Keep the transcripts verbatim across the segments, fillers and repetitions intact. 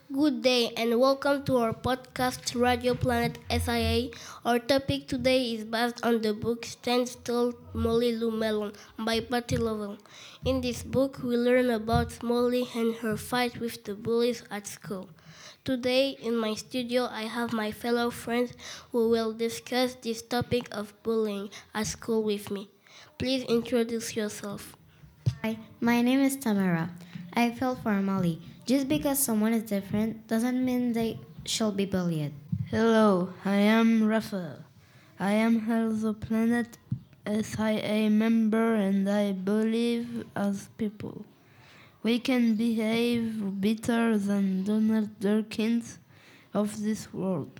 Good day and welcome to our podcast Radio Planet S I A. Our topic today is based on the book Stand Still, Molly Lou Melon by Patty Lovell. In this book, we learn about Molly and her fight with the bullies at school. Today, in my studio, I have my fellow friends who will discuss this topic of bullying at school with me. Please introduce yourself. Hi, my name is Tamara. I feel for Molly. Just because someone is different doesn't mean they shall be bullied. Hello, I am Raphael. I am also Planet S I A member and I believe as people. We can behave better than Donald Durkins of this world.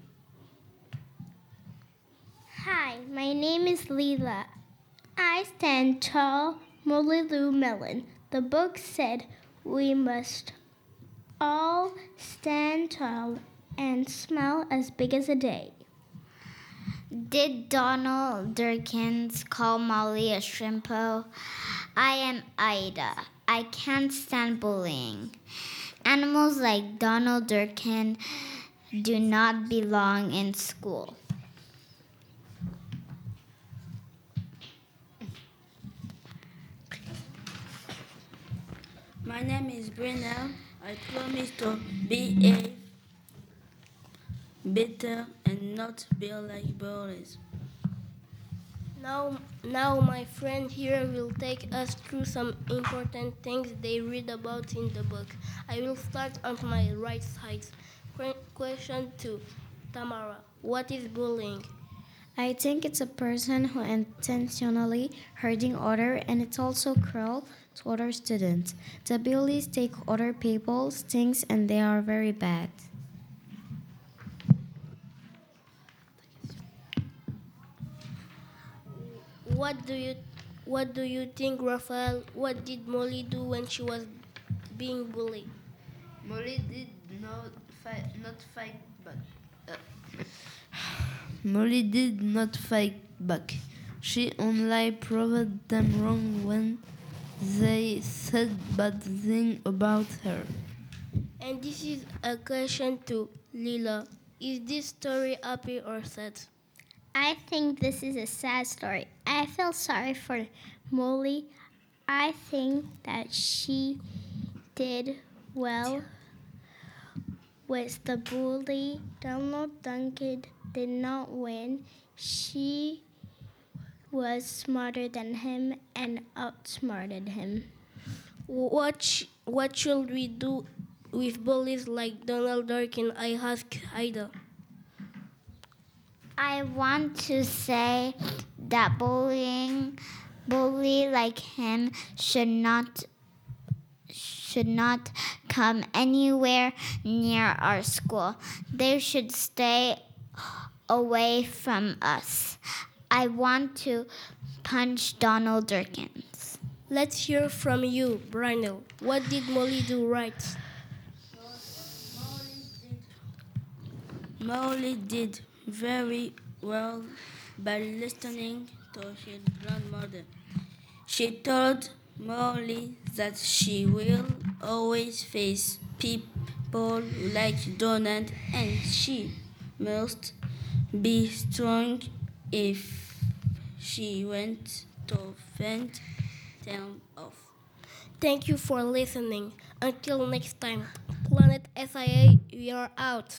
Hi, my name is Leela. I stand tall, Molly Lou Melon. The book said we must all stand tall and smile as big as a day. Did Donald Durkins call Molly a shrimpo? I am Ida. I can't stand bullying. Animals like Donald Durkin do not belong in school. My name is Brunel. I promise to behave better and not be like bullies. Now, now my friend here will take us through some important things they read about in the book. I will start on my right side. Que- Question two. Tamara, what is bullying? I think it's a person who intentionally hurting other and it's also cruel to other students. The bullies take other people's things and they are very bad. What do you what do you think, Raphael? What did Molly do when she was being bullied? Molly did not fight, not fight back. Uh, Molly did not fight back. She only proved them wrong when they said bad things about her. And this is a question to Lila. Is this story happy or sad? I think this is a sad story. I feel sorry for Molly. I think that she did well with the bully. Donald Duncan did not win. She was smarter than him and outsmarted him. What sh- what should we do with bullies like Donald Durkin? I asked Ida. I want to say that bullying, bully like him should not should not come anywhere near our school. They should stay away from us. I want to punch Donald Durkins. Let's hear from you, Brynel. What did Molly do right? Molly did very well by listening to his grandmother. She told Molly that she will always face people like Donald and she must be strong if she went to fend them off. Thank you for listening. Until next time, Planet S I A, we are out.